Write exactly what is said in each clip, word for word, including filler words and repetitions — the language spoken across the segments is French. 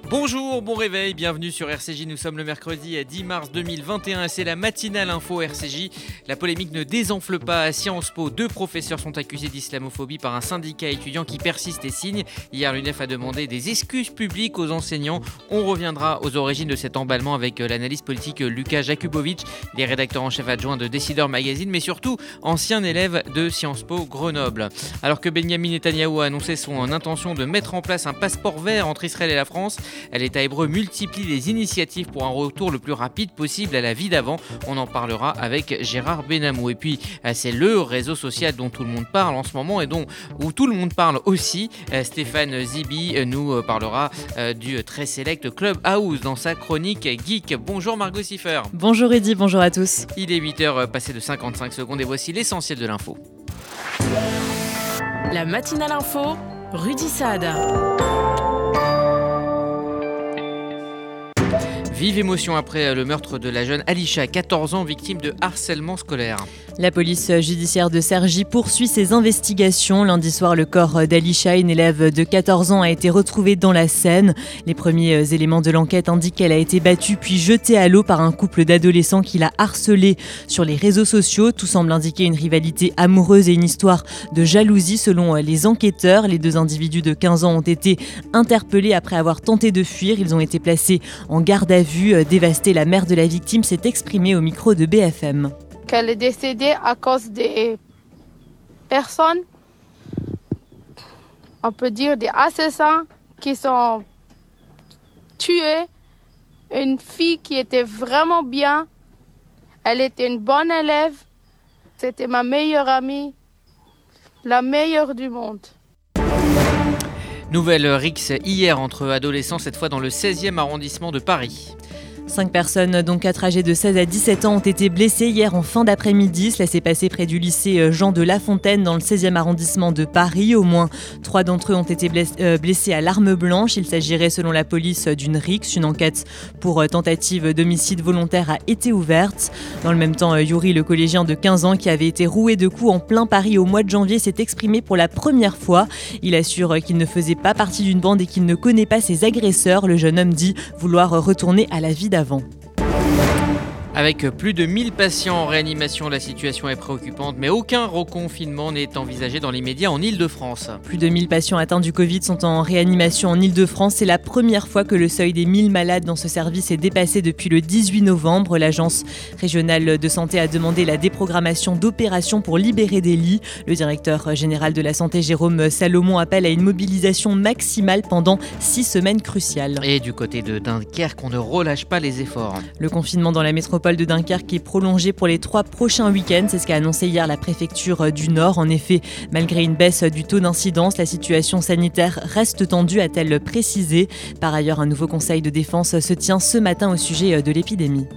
Bonjour, bon réveil, bienvenue sur R C J, nous sommes le mercredi dix mars deux mille vingt et un et c'est la matinale info R C J. La polémique ne désenfle pas à Sciences Po, deux professeurs sont accusés d'islamophobie par un syndicat étudiant qui persiste et signe. Hier, l'U N E F a demandé des excuses publiques aux enseignants. On reviendra aux origines de cet emballement avec l'analyste politique Lucas Jakubowicz, il est rédacteur en chef adjoint de Décideur Magazine, mais surtout ancien élève de Sciences Po Grenoble. Alors que Benyamin Netanyahou a annoncé son intention de mettre en place un passeport vert entre Israël et la France, l'État hébreu multiplie les initiatives pour un retour le plus rapide possible à la vie d'avant. On en parlera avec Gérard Benamou. Et puis, c'est le réseau social dont tout le monde parle en ce moment et dont où tout le monde parle aussi. Stéphane Zibi nous parlera du très select Clubhouse dans sa chronique Geek. Bonjour Margot Siffer. Bonjour Eddy, bonjour à tous. Il est huit heures passé de cinquante-cinq secondes et voici l'essentiel de l'info. La matinale info, Rudy Saad. Vive émotion après le meurtre de la jeune Alisha, quatorze ans, victime de harcèlement scolaire. La police judiciaire de Cergy poursuit ses investigations. Lundi soir, le corps d'Alisha, une élève de quatorze ans, a été retrouvé dans la Seine. Les premiers éléments de l'enquête indiquent qu'elle a été battue puis jetée à l'eau par un couple d'adolescents qui l'a harcelée sur les réseaux sociaux. Tout semble indiquer une rivalité amoureuse et une histoire de jalousie selon les enquêteurs. Les deux individus de quinze ans ont été interpellés après avoir tenté de fuir. Ils ont été placés en garde à vue. Dévastée, la mère de la victime s'est exprimée au micro de B F M. Qu'elle est décédée à cause des personnes, on peut dire des assassins qui sont tués. Une fille qui était vraiment bien, elle était une bonne élève, c'était ma meilleure amie, la meilleure du monde. Nouvelle rixe hier entre adolescents, cette fois dans le seizième arrondissement de Paris. Cinq personnes, dont quatre âgées de seize à dix-sept ans, ont été blessées hier en fin d'après-midi. Cela s'est passé près du lycée Jean de La Fontaine dans le seizième arrondissement de Paris. Au moins trois d'entre eux ont été blessés à l'arme blanche. Il s'agirait selon la police d'une rixe. Une enquête pour tentative d'homicide volontaire a été ouverte. Dans le même temps, Yuri, le collégien de quinze ans qui avait été roué de coups en plein Paris au mois de janvier, s'est exprimé pour la première fois. Il assure qu'il ne faisait pas partie d'une bande et qu'il ne connaît pas ses agresseurs. Le jeune homme dit vouloir retourner à la vie d'avant. Avec plus de mille patients en réanimation, la situation est préoccupante, mais aucun reconfinement n'est envisagé dans l'immédiat en Île-de-France. Plus de mille patients atteints du Covid sont en réanimation en Île-de-France. C'est la première fois que le seuil des mille malades dans ce service est dépassé depuis le dix-huit novembre. L'Agence régionale de santé a demandé la déprogrammation d'opérations pour libérer des lits. Le directeur général de la santé, Jérôme Salomon, appelle à une mobilisation maximale pendant six semaines cruciales. Et du côté de Dunkerque, on ne relâche pas les efforts. Le confinement dans la métropole de Dunkerque est prolongé pour les trois prochains week-ends. C'est ce qu'a annoncé hier la préfecture du Nord. En effet, malgré une baisse du taux d'incidence, la situation sanitaire reste tendue, a-t-elle précisé. Par ailleurs, un nouveau conseil de défense se tient ce matin au sujet de l'épidémie.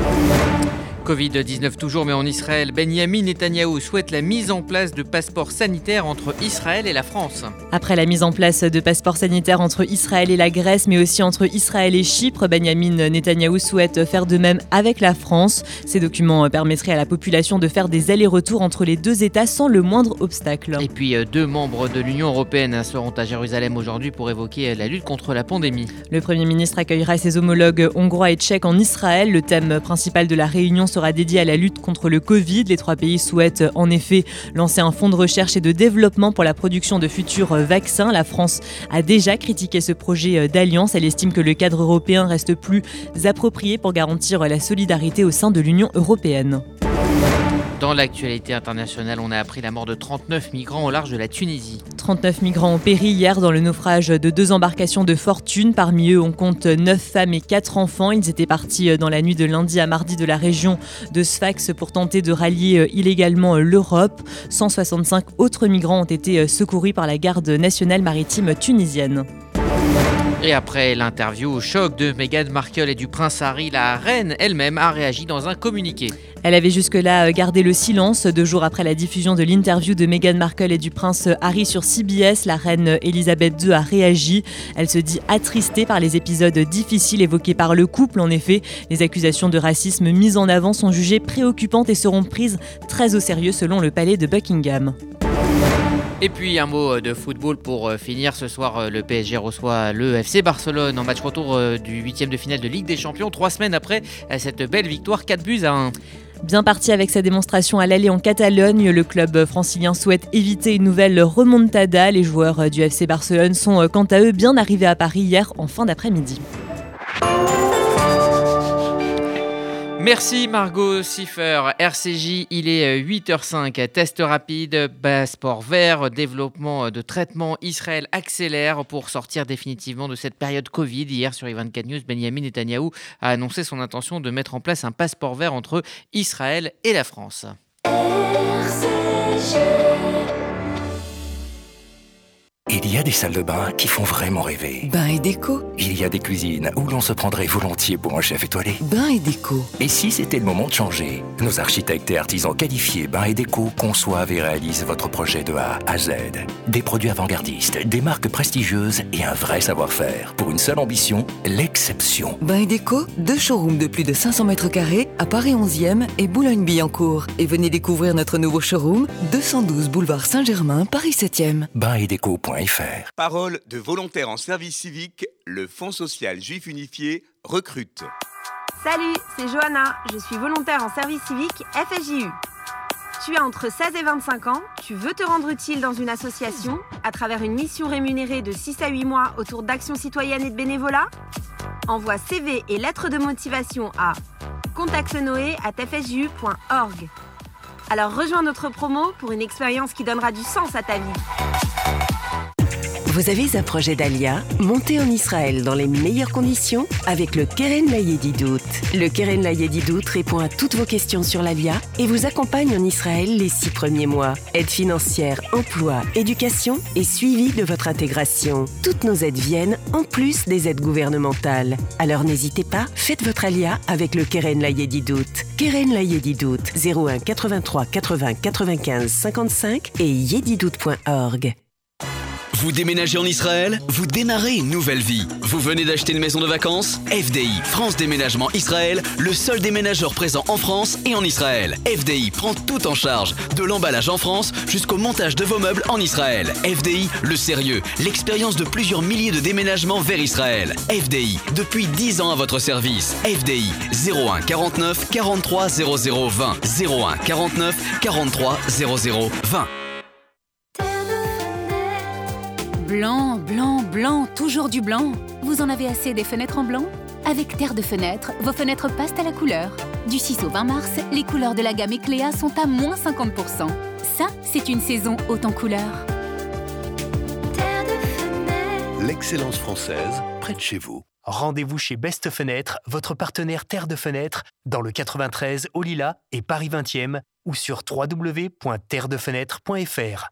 covid dix-neuf toujours, mais en Israël, Benyamin Netanyahou souhaite la mise en place de passeports sanitaires entre Israël et la France. Après la mise en place de passeports sanitaires entre Israël et la Grèce, mais aussi entre Israël et Chypre, Benyamin Netanyahou souhaite faire de même avec la France. Ces documents permettraient à la population de faire des allers-retours entre les deux États sans le moindre obstacle. Et puis, deux membres de l'Union européenne seront à Jérusalem aujourd'hui pour évoquer la lutte contre la pandémie. Le Premier ministre accueillera ses homologues hongrois et tchèques en Israël. Le thème principal de la réunion sera dédié à la lutte contre le Covid. Les trois pays souhaitent en effet lancer un fonds de recherche et de développement pour la production de futurs vaccins. La France a déjà critiqué ce projet d'alliance. Elle estime que le cadre européen reste plus approprié pour garantir la solidarité au sein de l'Union européenne. Dans l'actualité internationale, on a appris la mort de trente-neuf migrants au large de la Tunisie. trente-neuf migrants ont péri hier dans le naufrage de deux embarcations de fortune. Parmi eux, on compte neuf femmes et quatre enfants. Ils étaient partis dans la nuit de lundi à mardi de la région de Sfax pour tenter de rallier illégalement l'Europe. cent soixante-cinq autres migrants ont été secourus par la garde nationale maritime tunisienne. Et après l'interview au choc de Meghan Markle et du prince Harry, la reine elle-même a réagi dans un communiqué. Elle avait jusque-là gardé le silence. Deux jours après la diffusion de l'interview de Meghan Markle et du prince Harry sur C B S, la reine Elisabeth deux a réagi. Elle se dit attristée par les épisodes difficiles évoqués par le couple. En effet, les accusations de racisme mises en avant sont jugées préoccupantes et seront prises très au sérieux selon le palais de Buckingham. Et puis un mot de football pour finir. Ce soir, le P S G reçoit le F C Barcelone en match retour du huitième de finale de Ligue des Champions, trois semaines après cette belle victoire, quatre buts à un. Bien parti avec sa démonstration à l'aller en Catalogne, le club francilien souhaite éviter une nouvelle remontada. Les joueurs du F C Barcelone sont quant à eux bien arrivés à Paris hier en fin d'après-midi. Merci Margot Siffer. R C J, il est huit heures cinq. Test rapide, passeport vert, développement de traitement. Israël accélère pour sortir définitivement de cette période Covid. Hier sur I vingt-quatre News, Benyamin Netanyahou a annoncé son intention de mettre en place un passeport vert entre Israël et la France. R C J. Il y a des salles de bain qui font vraiment rêver. Bain et déco. Il y a des cuisines où l'on se prendrait volontiers pour un chef étoilé. Bain et déco. Et si c'était le moment de changer? Nos architectes et artisans qualifiés Bain et déco conçoivent et réalisent votre projet de A à Z. Des produits avant-gardistes, des marques prestigieuses et un vrai savoir-faire. Pour une seule ambition, l'exception. Bain et déco, deux showrooms de plus de cinq cents mètres carrés à Paris onzième et Boulogne-Billancourt. Et venez découvrir notre nouveau showroom, deux cent douze boulevard Saint-Germain, Paris septième. bain et déco point f r. Parole de volontaires en service civique, le Fonds social juif unifié recrute. Salut, c'est Johanna, je suis volontaire en service civique F S J U. Tu as entre seize et vingt-cinq ans, tu veux te rendre utile dans une association à travers une mission rémunérée de six à huit mois autour d'actions citoyennes et de bénévolat? Envoie C V et lettres de motivation à contactenoé arobase f s j u point org. Alors rejoins notre promo pour une expérience qui donnera du sens à ta vie. Vous avez un projet d'Alia? Montez en Israël dans les meilleures conditions avec le Keren Layedidout. Le Keren Layedidout répond à toutes vos questions sur l'Alia et vous accompagne en Israël les six premiers mois. Aide financière, emploi, éducation et suivi de votre intégration. Toutes nos aides viennent en plus des aides gouvernementales. Alors n'hésitez pas, faites votre Alia avec le Keren Layedidout. Keren Layedidout, zéro un quatre-vingt-trois quatre-vingts quatre-vingt-quinze cinquante-cinq et yedidout point org. Vous déménagez en Israël? Vous démarrez une nouvelle vie. Vous venez d'acheter une maison de vacances? F D I, France Déménagement Israël, le seul déménageur présent en France et en Israël. F D I prend tout en charge, de l'emballage en France jusqu'au montage de vos meubles en Israël. F D I, le sérieux, l'expérience de plusieurs milliers de déménagements vers Israël. F D I, depuis dix ans à votre service. F D I, zéro un quarante-neuf quarante-trois zéro zéro vingt. zéro un quarante-neuf quarante-trois zéro zéro vingt. Blanc, blanc, blanc, toujours du blanc. Vous en avez assez des fenêtres en blanc? Avec Terre de Fenêtre, vos fenêtres passent à la couleur. Du six au vingt mars, les couleurs de la gamme Ecléa sont à moins cinquante pour cent. Ça, c'est une saison haute en couleurs. Terre de Fenêtre. L'excellence française, près de chez vous. Rendez-vous chez Best Fenêtre, votre partenaire Terre de Fenêtre, dans le quatre-vingt-treize au Lilas et Paris vingtième ou sur w w w point terre de fenêtre point f r.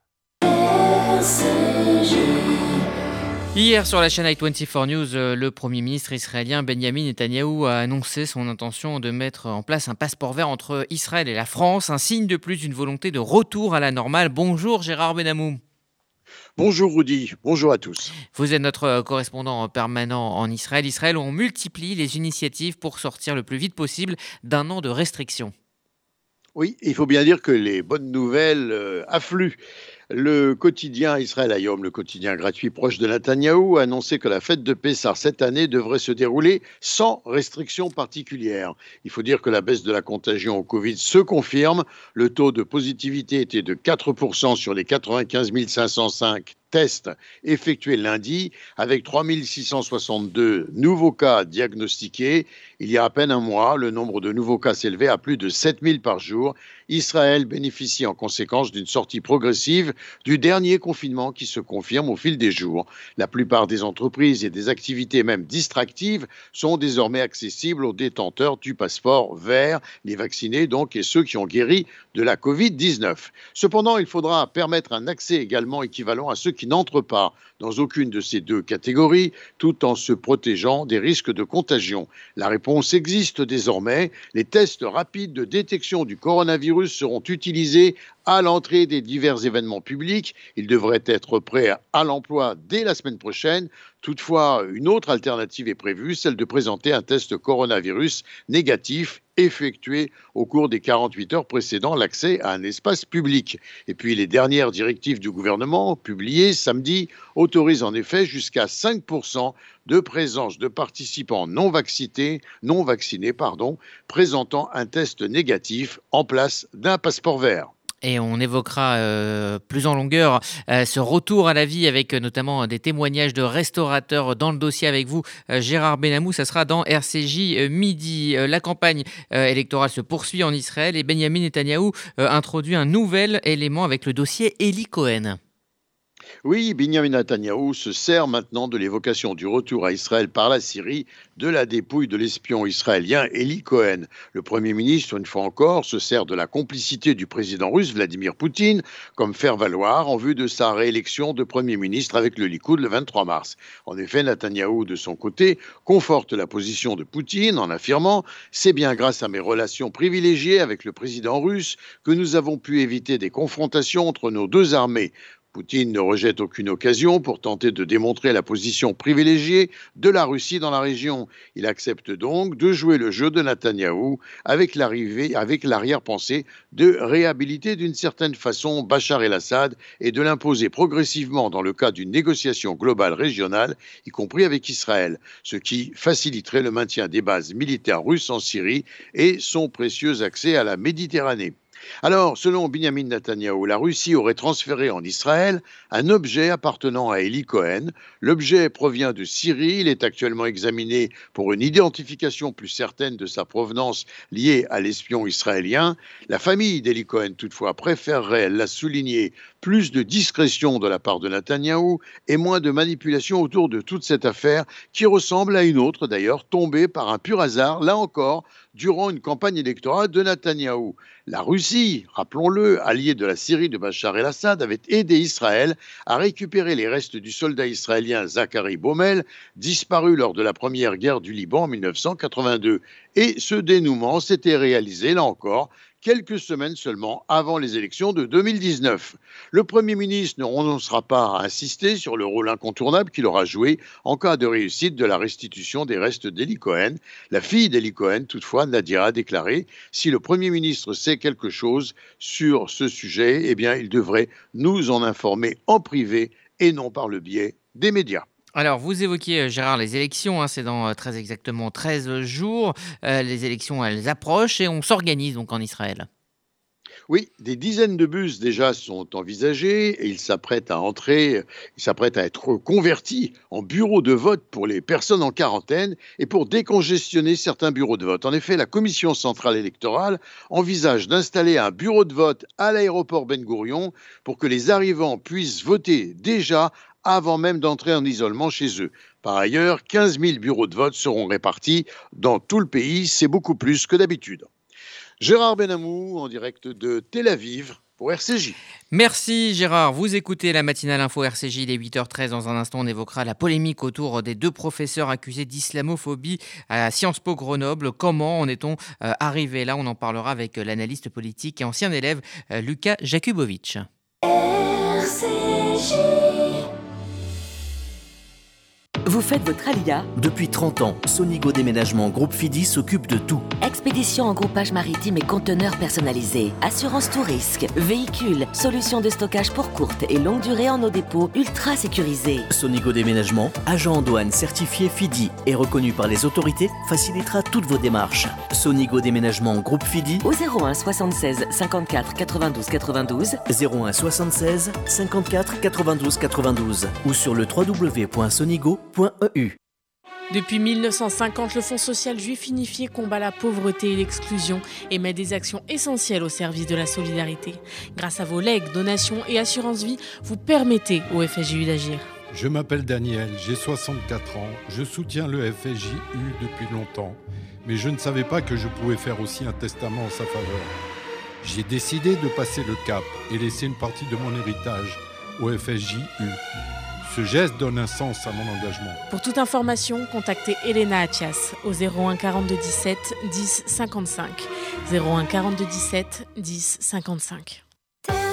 Hier sur la chaîne I vingt-quatre News, le Premier ministre israélien Benyamin Netanyahou a annoncé son intention de mettre en place un passeport vert entre Israël et la France, un signe de plus d'une volonté de retour à la normale. Bonjour Gérard Benamou. Bonjour Rudy, bonjour à tous. Vous êtes notre correspondant permanent en Israël. Israël, on multiplie les initiatives pour sortir le plus vite possible d'un an de restrictions. Oui, il faut bien dire que les bonnes nouvelles euh, affluent. Le quotidien Israël Hayom, le quotidien gratuit proche de Netanyahou, a annoncé que la fête de Pessah cette année devrait se dérouler sans restrictions particulières. Il faut dire que la baisse de la contagion au Covid se confirme. Le taux de positivité était de quatre pour cent sur les quatre-vingt-quinze mille cinq cent cinq tests effectués lundi, avec trois mille six cent soixante-deux nouveaux cas diagnostiqués. Il y a à peine un mois, le nombre de nouveaux cas s'élevait à plus de sept mille par jour. Israël bénéficie en conséquence d'une sortie progressive du dernier confinement qui se confirme au fil des jours. La plupart des entreprises et des activités même distractives sont désormais accessibles aux détenteurs du passeport vert, les vaccinés donc et ceux qui ont guéri de la covid dix-neuf. Cependant, il faudra permettre un accès également équivalent à ceux qui n'entrent pas dans aucune de ces deux catégories, tout en se protégeant des risques de contagion. La réponse existe désormais. Les tests rapides de détection du coronavirus seront utilisés à l'entrée des divers événements publics. Il devrait être prêt à l'emploi dès la semaine prochaine. Toutefois, une autre alternative est prévue, celle de présenter un test coronavirus négatif effectué au cours des quarante-huit heures précédant l'accès à un espace public. Et puis les dernières directives du gouvernement, publiées samedi, autorisent en effet jusqu'à cinq pour cent de présence de participants non vaccinés, non vaccinés pardon, présentant un test négatif en place d'un passeport vert. Et on évoquera euh, plus en longueur euh, ce retour à la vie avec euh, notamment des témoignages de restaurateurs dans le dossier avec vous, euh, Gérard Benamou. Ça sera dans R C J euh, midi. Euh, la campagne euh, électorale se poursuit en Israël et Benjamin Netanyahou euh, introduit un nouvel élément avec le dossier Eli Cohen. Oui, Benjamin Netanyahou se sert maintenant de l'évocation du retour à Israël par la Syrie de la dépouille de l'espion israélien Eli Cohen. Le Premier ministre, une fois encore, se sert de la complicité du président russe Vladimir Poutine comme faire-valoir en vue de sa réélection de Premier ministre avec le Likoud le vingt-trois mars. En effet, Netanyahou, de son côté, conforte la position de Poutine en affirmant « C'est bien grâce à mes relations privilégiées avec le président russe que nous avons pu éviter des confrontations entre nos deux armées ». Poutine ne rejette aucune occasion pour tenter de démontrer la position privilégiée de la Russie dans la région. Il accepte donc de jouer le jeu de Netanyahou avec l'arrivée, avec l'arrière-pensée de réhabiliter d'une certaine façon Bachar el-Assad et de l'imposer progressivement dans le cadre d'une négociation globale régionale, y compris avec Israël, ce qui faciliterait le maintien des bases militaires russes en Syrie et son précieux accès à la Méditerranée. Alors, selon Benjamin Netanyahou, la Russie aurait transféré en Israël un objet appartenant à Eli Cohen. L'objet provient de Syrie. Il est actuellement examiné pour une identification plus certaine de sa provenance liée à l'espion israélien. La famille d'Eli Cohen, toutefois, préférerait, elle l'a souligné, plus de discrétion de la part de Netanyahou et moins de manipulation autour de toute cette affaire qui ressemble à une autre, d'ailleurs, tombée par un pur hasard, là encore, durant une campagne électorale de Netanyahou. La Russie, rappelons-le, alliée de la Syrie de Bachar el-Assad, avait aidé Israël à récupérer les restes du soldat israélien Zachary Baumel, disparu lors de la première guerre du Liban en mille neuf cent quatre-vingt-deux. Et ce dénouement s'était réalisé, là encore, quelques semaines seulement avant les élections de deux mille dix-neuf. Le Premier ministre ne renoncera pas à insister sur le rôle incontournable qu'il aura joué en cas de réussite de la restitution des restes d'Eli Cohen. La fille d'Eli Cohen, toutefois, Nadira, a déclaré « Si le Premier ministre sait quelque chose sur ce sujet, eh bien, il devrait nous en informer en privé et non par le biais des médias ». Alors, vous évoquiez, Gérard, les élections, hein, c'est dans euh, très exactement treize jours. Euh, les élections, elles approchent et on s'organise donc en Israël. Oui, des dizaines de bus déjà sont envisagés et ils s'apprêtent à entrer, ils s'apprêtent à être convertis en bureaux de vote pour les personnes en quarantaine et pour décongestionner certains bureaux de vote. En effet, la Commission centrale électorale envisage d'installer un bureau de vote à l'aéroport Ben Gourion pour que les arrivants puissent voter déjà avant même d'entrer en isolement chez eux. Par ailleurs, quinze mille bureaux de vote seront répartis dans tout le pays. C'est beaucoup plus que d'habitude. Gérard Benamou, en direct de Tel Aviv, pour R C J. Merci Gérard. Vous écoutez la matinale info R C J, il est huit heures treize. Dans un instant, on évoquera la polémique autour des deux professeurs accusés d'islamophobie à Sciences Po Grenoble. Comment en est-on euh, arrivé là? On en parlera avec l'analyste politique et ancien élève euh, Lucas Jakubovic. R C J. Vous faites votre alia? Depuis trente ans, Sonigo Déménagement Groupe Fidi s'occupe de tout. Expédition en groupage maritime et conteneurs personnalisés, assurance tout risque, véhicules, solutions de stockage pour courte et longue durée en nos dépôts ultra sécurisés. Sonigo Déménagement, agent en douane certifié Fidi et reconnu par les autorités, facilitera toutes vos démarches. Sonigo Déménagement Groupe Fidi au zéro un soixante-seize cinquante-quatre quatre-vingt-douze quatre-vingt-douze, zéro un soixante-seize cinquante-quatre quatre-vingt-douze quatre-vingt-douze ou sur le w w w point sonigo point e u. Depuis mille neuf cent cinquante, le Fonds social juif unifié combat la pauvreté et l'exclusion et met des actions essentielles au service de la solidarité. Grâce à vos legs, donations et assurances vie, vous permettez au F S J U d'agir. Je m'appelle Daniel, j'ai soixante-quatre ans, je soutiens le F S J U depuis longtemps, mais je ne savais pas que je pouvais faire aussi un testament en sa faveur. J'ai décidé de passer le cap et laisser une partie de mon héritage au F S J U. Ce geste donne un sens à mon engagement. Pour toute information, contactez Elena Atias au zéro un quarante-deux dix-sept dix cinquante-cinq. zéro un quarante-deux dix-sept dix cinquante-cinq.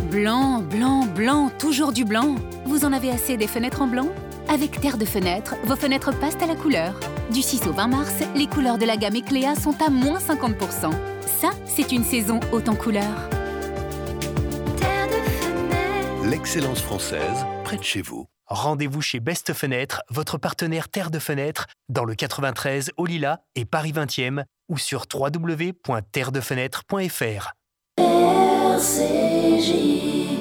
blanc, blanc, blanc, toujours du blanc. Vous en avez assez des fenêtres en blanc ? Avec Terre de Fenêtre, vos fenêtres passent à la couleur. Du six au vingt mars, les couleurs de la gamme Ecléa sont à moins cinquante pour cent. Ça, c'est une saison haute en couleurs. L'excellence française, près de chez vous. Rendez-vous chez Best Fenêtre, votre partenaire Terre de Fenêtre, dans le quatre-vingt-treize au Lilas et Paris vingtième ou sur w w w point terre de fenêtre point f r. R C J.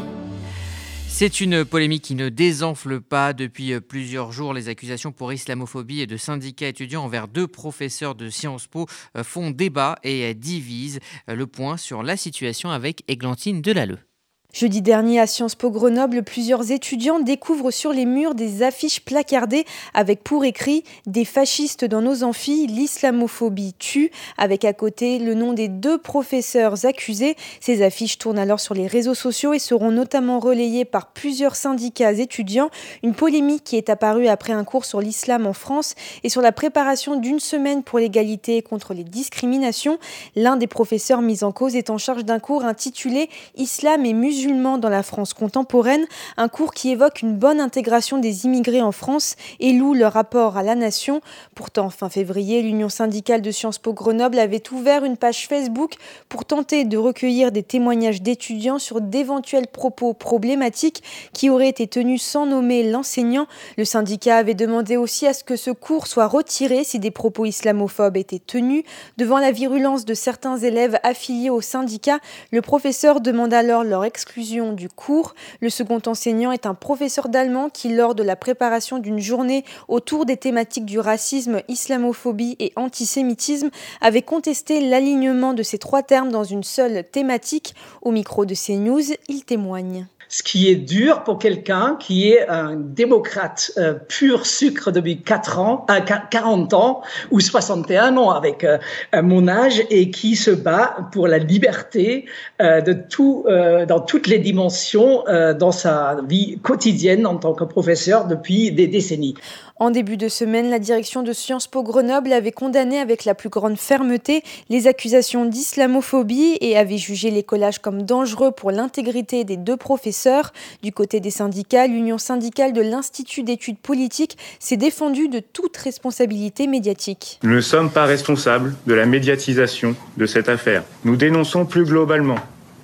C'est une polémique qui ne désenfle pas. Depuis plusieurs jours, les accusations pour islamophobie et de syndicats étudiants envers deux professeurs de Sciences Po font débat et divisent. Le point sur la situation avec Églantine Delalleux. Jeudi dernier, à Sciences Po Grenoble, plusieurs étudiants découvrent sur les murs des affiches placardées avec pour écrit « Des fascistes dans nos amphis, l'islamophobie tue », avec à côté le nom des deux professeurs accusés. Ces affiches tournent alors sur les réseaux sociaux et seront notamment relayées par plusieurs syndicats étudiants. Une polémique qui est apparue après un cours sur l'islam en France et sur la préparation d'une semaine pour l'égalité et contre les discriminations. L'un des professeurs mis en cause est en charge d'un cours intitulé « Islam et musulmans dans la France contemporaine », un cours qui évoque une bonne intégration des immigrés en France et loue leur rapport à la nation. Pourtant, fin février, l'Union syndicale de Sciences Po Grenoble avait ouvert une page Facebook pour tenter de recueillir des témoignages d'étudiants sur d'éventuels propos problématiques qui auraient été tenus sans nommer l'enseignant. Le syndicat avait demandé aussi à ce que ce cours soit retiré si des propos islamophobes étaient tenus. Devant la virulence de certains élèves affiliés au syndicat, le professeur demande alors leur exclusion du cours. Le second enseignant est un professeur d'allemand qui, lors de la préparation d'une journée autour des thématiques du racisme, islamophobie et antisémitisme, avait contesté l'alignement de ces trois termes dans une seule thématique. Au micro de CNews, il témoigne. Ce qui est dur pour quelqu'un qui est un démocrate euh, pur sucre depuis quatre ans, euh, quarante ans ou soixante et un ans avec euh, mon âge et qui se bat pour la liberté euh, de tout, euh, dans toutes les dimensions euh, dans sa vie quotidienne en tant que professeur depuis des décennies. En début de semaine, la direction de Sciences Po Grenoble avait condamné avec la plus grande fermeté les accusations d'islamophobie et avait jugé les collages comme dangereux pour l'intégrité des deux professeurs. Du côté des syndicats, l'Union syndicale de l'Institut d'études politiques s'est défendue de toute responsabilité médiatique. Nous ne sommes pas responsables de la médiatisation de cette affaire. Nous dénonçons plus globalement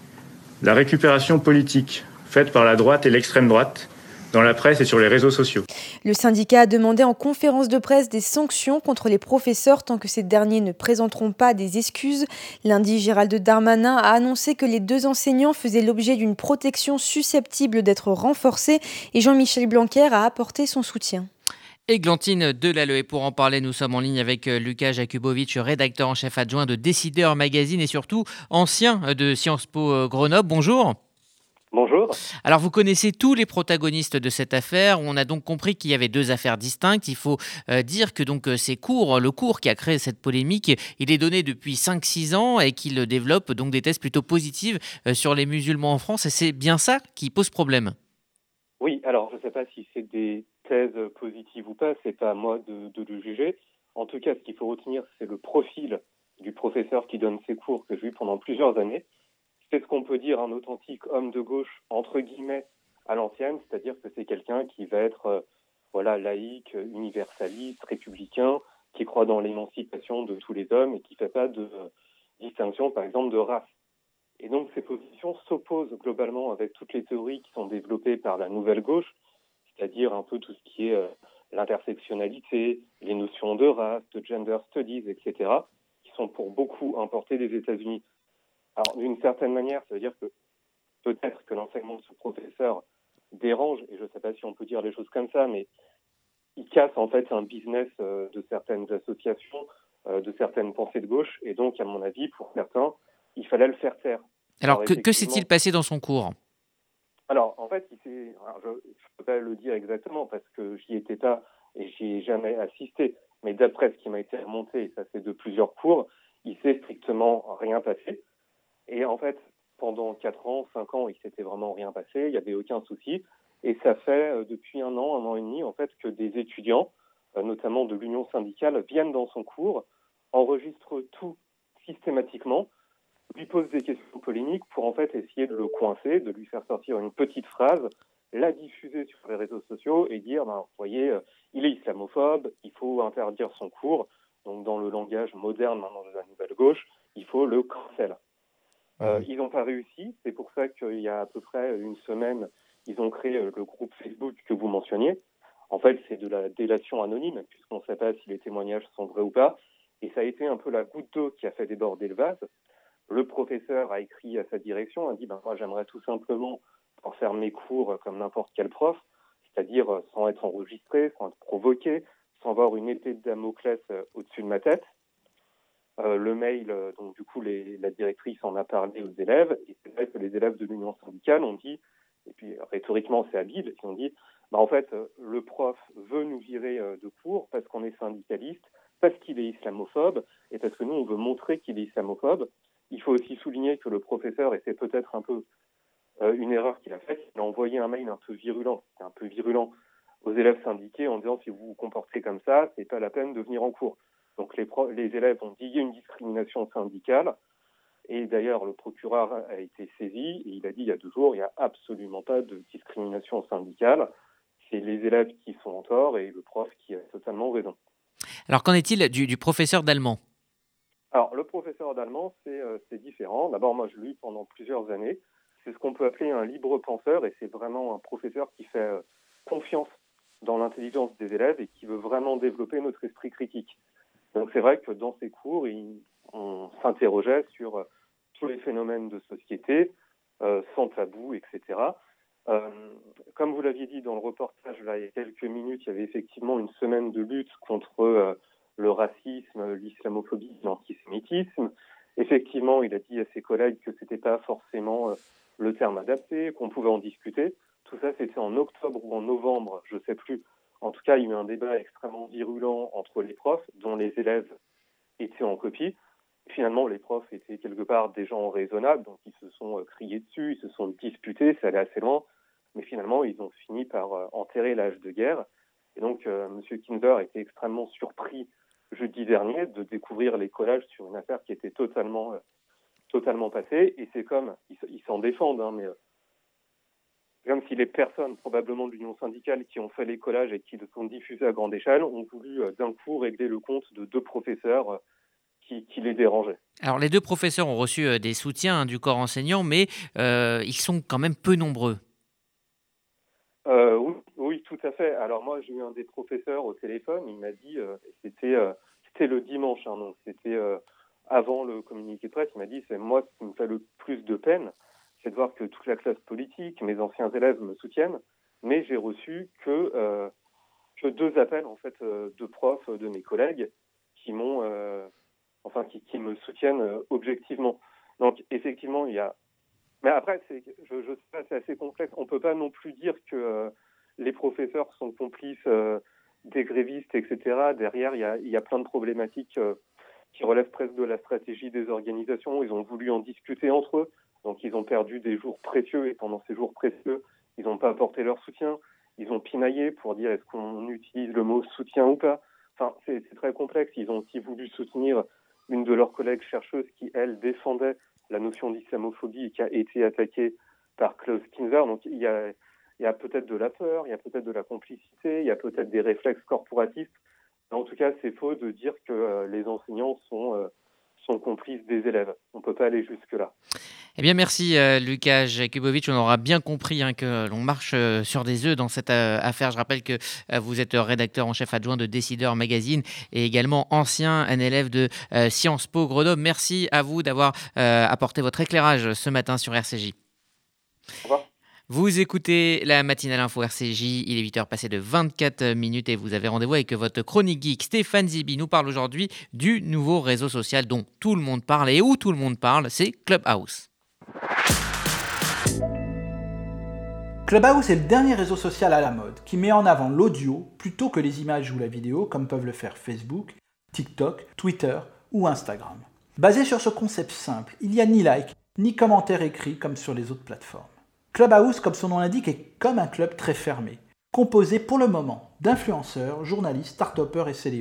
la récupération politique faite par la droite et l'extrême droite dans la presse et sur les réseaux sociaux. Le syndicat a demandé en conférence de presse des sanctions contre les professeurs tant que ces derniers ne présenteront pas des excuses. Lundi, Gérald Darmanin a annoncé que les deux enseignants faisaient l'objet d'une protection susceptible d'être renforcée et Jean-Michel Blanquer a apporté son soutien. Églantine Delalleux. Et pour en parler, nous sommes en ligne avec Lucas Jakubowicz, rédacteur en chef adjoint de Décideur Magazine et surtout ancien de Sciences Po Grenoble. Bonjour. Bonjour. Alors vous connaissez tous les protagonistes de cette affaire. On a donc compris qu'il y avait deux affaires distinctes. Il faut euh, dire que donc ces cours, le cours qui a créé cette polémique, il est donné depuis cinq six ans et qu'il développe donc des thèses plutôt positives euh, sur les musulmans en France. Et c'est bien ça qui pose problème. Oui, alors je ne sais pas si c'est des thèses positives ou pas, c'est pas à moi de, de le juger. En tout cas, ce qu'il faut retenir, c'est le profil du professeur qui donne ces cours que j'ai eu pendant plusieurs années. C'est ce qu'on peut dire un authentique homme de gauche, entre guillemets, à l'ancienne, c'est-à-dire que c'est quelqu'un qui va être euh, voilà, laïque, universaliste, républicain, qui croit dans l'émancipation de tous les hommes et qui ne fait pas de euh, distinction, par exemple, de race. Et donc ces positions s'opposent globalement avec toutes les théories qui sont développées par la nouvelle gauche, c'est-à-dire un peu tout ce qui est euh, l'intersectionnalité, les notions de race, de gender studies, et cetera, qui sont pour beaucoup importées des États-Unis. Alors, d'une certaine manière, ça veut dire que peut-être que l'enseignement de ce professeur dérange, et je ne sais pas si on peut dire les choses comme ça, mais il casse en fait un business euh, de certaines associations, euh, de certaines pensées de gauche, et donc, à mon avis, pour certains, il fallait le faire taire. Alors, Alors que, que s'est-il passé dans son cours ? Alors, en fait, il s'est, alors je ne peux pas le dire exactement parce que j'y étais pas et j'y ai jamais assisté, mais d'après ce qui m'a été remonté, et ça c'est de plusieurs cours, il s'est strictement rien passé. Et en fait, pendant quatre ans, cinq ans, il s'était vraiment rien passé, il n'y avait aucun souci. Et ça fait euh, depuis un an, un an et demi, en fait, que des étudiants, euh, notamment de l'Union syndicale, viennent dans son cours, enregistrent tout systématiquement, lui pose des questions polémiques pour en fait essayer de le coincer, de lui faire sortir une petite phrase, la diffuser sur les réseaux sociaux et dire, ben, vous voyez, euh, il est islamophobe, il faut interdire son cours. Donc dans le langage moderne maintenant de la nouvelle gauche, il faut le cancel. Euh, ils n'ont pas réussi, c'est pour ça qu'il y a à peu près une semaine, ils ont créé le groupe Facebook que vous mentionniez. En fait, c'est de la délation anonyme, puisqu'on ne sait pas si les témoignages sont vrais ou pas. Et ça a été un peu la goutte d'eau qui a fait déborder le vase. Le professeur a écrit à sa direction, a dit ben, « moi j'aimerais tout simplement en faire mes cours comme n'importe quel prof, c'est-à-dire sans être enregistré, sans être provoqué, sans avoir une épée de Damoclès au-dessus de ma tête. » Euh, le mail, euh, donc du coup, les, la directrice en a parlé aux élèves, et c'est vrai que les élèves de l'Union syndicale ont dit, et puis rhétoriquement c'est habile, ils ont dit, bah, en fait, euh, le prof veut nous virer euh, de cours parce qu'on est syndicaliste, parce qu'il est islamophobe, et parce que nous, on veut montrer qu'il est islamophobe. Il faut aussi souligner que le professeur, et c'est peut-être un peu euh, une erreur qu'il a faite, il a envoyé un mail un peu virulent, un peu virulent aux élèves syndiqués en disant, si vous vous comportez comme ça, c'est pas la peine de venir en cours. Donc les, pro- les élèves ont dit il y a une discrimination syndicale, et d'ailleurs le procureur a été saisi, et il a dit il y a deux jours, il n'y a absolument pas de discrimination syndicale, c'est les élèves qui sont en tort et le prof qui a totalement raison. Alors qu'en est-il du, du professeur d'allemand ? Alors le professeur d'allemand, c'est, euh, c'est différent. D'abord moi je l'ai eu pendant plusieurs années, c'est ce qu'on peut appeler un libre penseur, et c'est vraiment un professeur qui fait euh, confiance dans l'intelligence des élèves et qui veut vraiment développer notre esprit critique. Donc c'est vrai que dans ces cours, il, on s'interrogeait sur euh, tous les phénomènes de société, euh, sans tabou, et cetera. Euh, comme vous l'aviez dit dans le reportage, là, il y a quelques minutes, il y avait effectivement une semaine de lutte contre euh, le racisme, l'islamophobie, l'antisémitisme. Effectivement, il a dit à ses collègues que c'était pas forcément euh, le terme adapté, qu'on pouvait en discuter. Tout ça, c'était en octobre ou en novembre, je ne sais plus. En tout cas, il y a eu un débat extrêmement virulent entre les profs, dont les élèves étaient en copie. Finalement, les profs étaient quelque part des gens raisonnables, donc ils se sont euh, criés dessus, ils se sont disputés, ça allait assez loin. Mais finalement, ils ont fini par euh, enterrer l'âge de guerre. Et donc, euh, M. Kinzer était extrêmement surpris jeudi dernier de découvrir les collages sur une affaire qui était totalement, euh, totalement passée. Et c'est comme, ils, ils s'en défendent, hein, mais... Euh, comme si les personnes, probablement de l'Union syndicale, qui ont fait les collages et qui le sont diffusés à grande échelle, ont voulu euh, d'un coup régler le compte de deux professeurs euh, qui, qui les dérangeaient. Alors les deux professeurs ont reçu euh, des soutiens hein, du corps enseignant, mais euh, ils sont quand même peu nombreux. Euh, oui, oui, tout à fait. Alors moi, j'ai eu un des professeurs au téléphone, il m'a dit, euh, c'était, euh, c'était le dimanche, hein, donc c'était euh, avant le communiqué de presse, il m'a dit, c'est moi ce qui me fait le plus de peine, c'est de voir que toute la classe politique, mes anciens élèves me soutiennent, mais j'ai reçu que, euh, que deux appels en fait euh, de profs, de mes collègues, qui m'ont, euh, enfin qui, qui me soutiennent euh, objectivement. Donc effectivement, il y a. Mais après, c'est, je, je sais pas, c'est assez complexe. On peut pas non plus dire que euh, les professeurs sont complices euh, des grévistes, et cetera. Derrière, il y a, il y a plein de problématiques euh, qui relèvent presque de la stratégie des organisations. Ils ont voulu en discuter entre eux. Donc, ils ont perdu des jours précieux et pendant ces jours précieux, ils n'ont pas apporté leur soutien. Ils ont pinaillé pour dire est-ce qu'on utilise le mot soutien ou pas. Enfin, c'est, c'est très complexe. Ils ont aussi voulu soutenir une de leurs collègues chercheuses qui, elle, défendait la notion d'islamophobie et qui a été attaquée par Klaus Kinzer. Donc, il y a, il y a peut-être de la peur, il y a peut-être de la complicité, il y a peut-être des réflexes corporatistes. Mais en tout cas, c'est faux de dire que euh, les enseignants sont... Euh, sont complices des élèves. On ne peut pas aller jusque-là. Eh bien, merci euh, Lucas Jakubovic. On aura bien compris hein, que l'on marche euh, sur des œufs dans cette euh, affaire. Je rappelle que euh, vous êtes rédacteur en chef adjoint de Décideur Magazine et également ancien un élève de euh, Sciences Po Grenoble. Merci à vous d'avoir euh, apporté votre éclairage ce matin sur R C J. Au revoir. Vous écoutez la matinale info R C J, il est huit heures passées de vingt-quatre minutes et vous avez rendez-vous avec votre chronique geek. Stéphane Zibi nous parle aujourd'hui du nouveau réseau social dont tout le monde parle et où tout le monde parle, c'est Clubhouse. Clubhouse est le dernier réseau social à la mode qui met en avant l'audio plutôt que les images ou la vidéo comme peuvent le faire Facebook, TikTok, Twitter ou Instagram. Basé sur ce concept simple, il n'y a ni like ni commentaires écrits comme sur les autres plateformes. Clubhouse, comme son nom l'indique, est comme un club très fermé, composé pour le moment d'influenceurs, journalistes, start-upers et célébrités.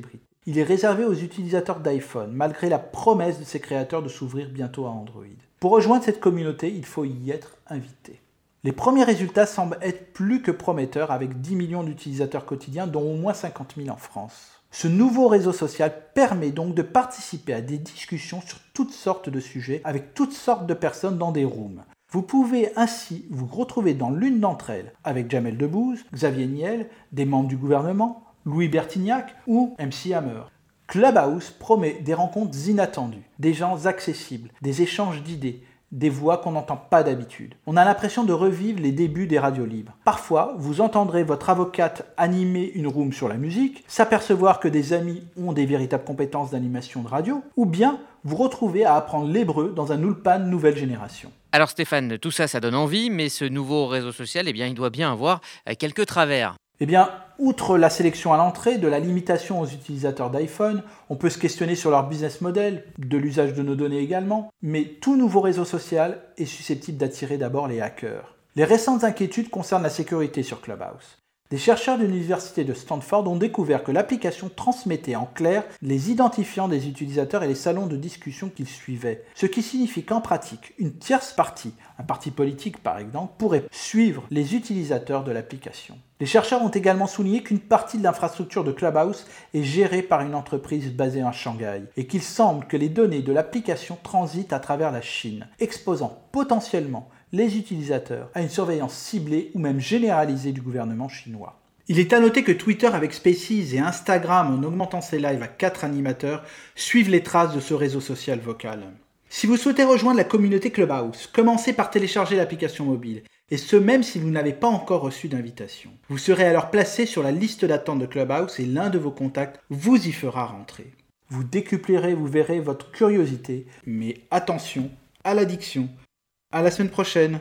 Il est réservé aux utilisateurs d'iPhone, malgré la promesse de ses créateurs de s'ouvrir bientôt à Android. Pour rejoindre cette communauté, il faut y être invité. Les premiers résultats semblent être plus que prometteurs avec dix millions d'utilisateurs quotidiens, dont au moins cinquante mille en France. Ce nouveau réseau social permet donc de participer à des discussions sur toutes sortes de sujets avec toutes sortes de personnes dans des rooms. Vous pouvez ainsi vous retrouver dans l'une d'entre elles avec Jamel Debbouze, Xavier Niel, des membres du gouvernement, Louis Bertignac ou M C Hammer. Clubhouse promet des rencontres inattendues, des gens accessibles, des échanges d'idées, des voix qu'on n'entend pas d'habitude. On a l'impression de revivre les débuts des radios libres. Parfois, vous entendrez votre avocate animer une room sur la musique, s'apercevoir que des amis ont des véritables compétences d'animation de radio, ou bien vous retrouver à apprendre l'hébreu dans un ulpan nouvelle génération. Alors Stéphane, tout ça, ça donne envie, mais ce nouveau réseau social, eh bien, il doit bien avoir quelques travers. Eh bien, outre la sélection à l'entrée, de la limitation aux utilisateurs d'iPhone, on peut se questionner sur leur business model, de l'usage de nos données également, mais tout nouveau réseau social est susceptible d'attirer d'abord les hackers. Les récentes inquiétudes concernent la sécurité sur Clubhouse. Des chercheurs de l'université de Stanford ont découvert que l'application transmettait en clair les identifiants des utilisateurs et les salons de discussion qu'ils suivaient, ce qui signifie qu'en pratique, une tierce partie, un parti politique par exemple, pourrait suivre les utilisateurs de l'application. Les chercheurs ont également souligné qu'une partie de l'infrastructure de Clubhouse est gérée par une entreprise basée à Shanghai et qu'il semble que les données de l'application transitent à travers la Chine, exposant potentiellement les utilisateurs à une surveillance ciblée ou même généralisée du gouvernement chinois. Il est à noter que Twitter avec Spaces et Instagram, en augmentant ses lives à quatre animateurs, suivent les traces de ce réseau social vocal. Si vous souhaitez rejoindre la communauté Clubhouse, commencez par télécharger l'application mobile, et ce même si vous n'avez pas encore reçu d'invitation. Vous serez alors placé sur la liste d'attente de Clubhouse et l'un de vos contacts vous y fera rentrer. Vous décuplerez, vous verrez, votre curiosité, mais attention à l'addiction. À la semaine prochaine.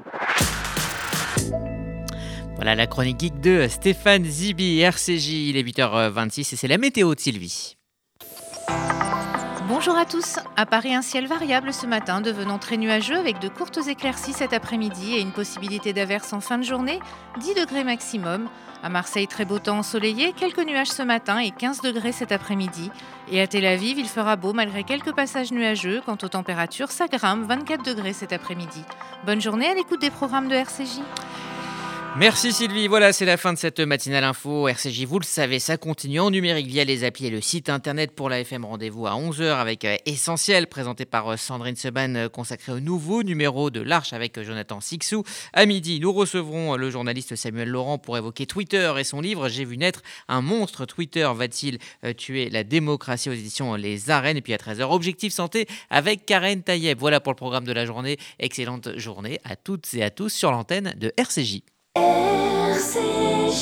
Voilà la chronique geek de Stéphane Zibi, R C J, il est huit heures vingt-six et c'est la météo de Sylvie. Bonjour à tous. À Paris, un ciel variable ce matin, devenant très nuageux avec de courtes éclaircies cet après-midi et une possibilité d'averse en fin de journée, dix degrés maximum. À Marseille, très beau temps ensoleillé, quelques nuages ce matin et quinze degrés cet après-midi. Et à Tel Aviv, il fera beau malgré quelques passages nuageux. Quant aux températures, ça grimpe, vingt-quatre degrés cet après-midi. Bonne journée à l'écoute des programmes de R C J. Merci Sylvie, voilà c'est la fin de cette matinale info. R C J, vous le savez, ça continue en numérique via les applis et le site internet. Pour la F M, rendez-vous à onze heures avec Essentiel, présenté par Sandrine Seban, consacré au nouveau numéro de l'Arche avec Jonathan Sixou. À midi, nous recevrons le journaliste Samuel Laurent pour évoquer Twitter et son livre « J'ai vu naître un monstre, Twitter va-t-il tuer la démocratie » aux éditions Les Arènes. Et puis à treize heures, Objectif Santé avec Karen Tayeb. Voilà pour le programme de la journée. Excellente journée à toutes et à tous sur l'antenne de R C J. R C J.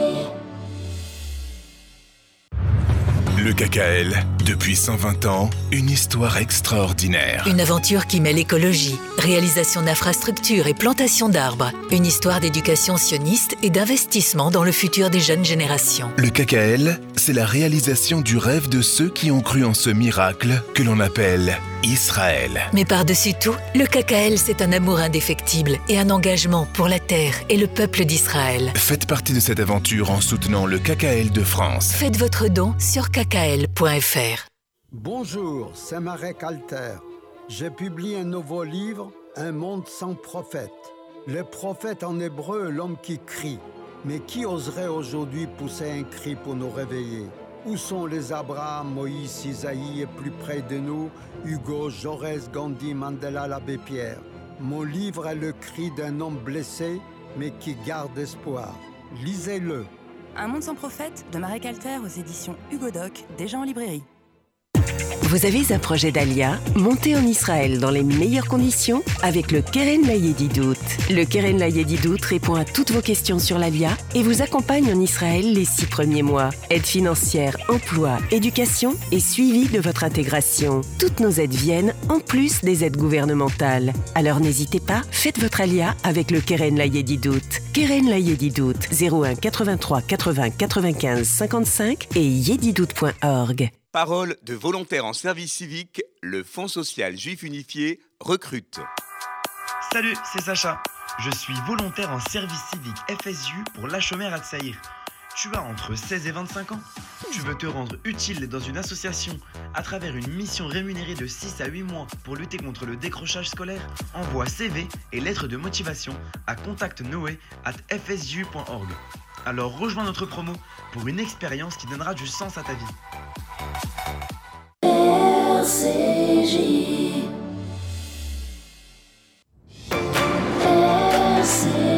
Le K K L, depuis cent vingt ans, une histoire extraordinaire. Une aventure qui mêle écologie, réalisation d'infrastructures et plantation d'arbres. Une histoire d'éducation sioniste et d'investissement dans le futur des jeunes générations. Le K K L, c'est la réalisation du rêve de ceux qui ont cru en ce miracle que l'on appelle Israël. Mais par-dessus tout, le K K L, c'est un amour indéfectible et un engagement pour la terre et le peuple d'Israël. Faites partie de cette aventure en soutenant le K K L de France. Faites votre don sur k k l point f r. Bonjour, c'est Marek Alter. J'ai publié un nouveau livre, Un monde sans prophète. Le prophète en hébreu, l'homme qui crie. Mais qui oserait aujourd'hui pousser un cri pour nous réveiller? Où sont les Abraham, Moïse, Isaïe et plus près de nous, Hugo, Jaurès, Gandhi, Mandela, l'abbé Pierre? Mon livre est le cri d'un homme blessé, mais qui garde espoir. Lisez-le. Un monde sans prophète de Marek Alter aux éditions Hugo Doc, déjà en librairie. Vous avez un projet d'Alia? Montez en Israël dans les meilleures conditions avec le Keren Layedidout. Le Keren Layedidout répond à toutes vos questions sur l'Alia et vous accompagne en Israël les six premiers mois. Aide financière, emploi, éducation et suivi de votre intégration. Toutes nos aides viennent en plus des aides gouvernementales. Alors n'hésitez pas, faites votre Alia avec le Keren Layedidout. Keren Layedidout, zéro un quatre-vingt-trois quatre-vingts quatre-vingt-quinze cinquante-cinq et yedidout point org. Parole de volontaires en service civique, le Fonds social juif unifié recrute. Salut, c'est Sacha. Je suis volontaire en service civique F S U pour l'Achomer Hatzaïr. Tu as entre seize et vingt-cinq ans. Tu veux te rendre utile dans une association à travers une mission rémunérée de six à huit mois pour lutter contre le décrochage scolaire? Envoie C V et lettres de motivation à contact noé arobase f s j u point org. Alors rejoins notre promo pour une expérience qui donnera du sens à ta vie. R C J R C J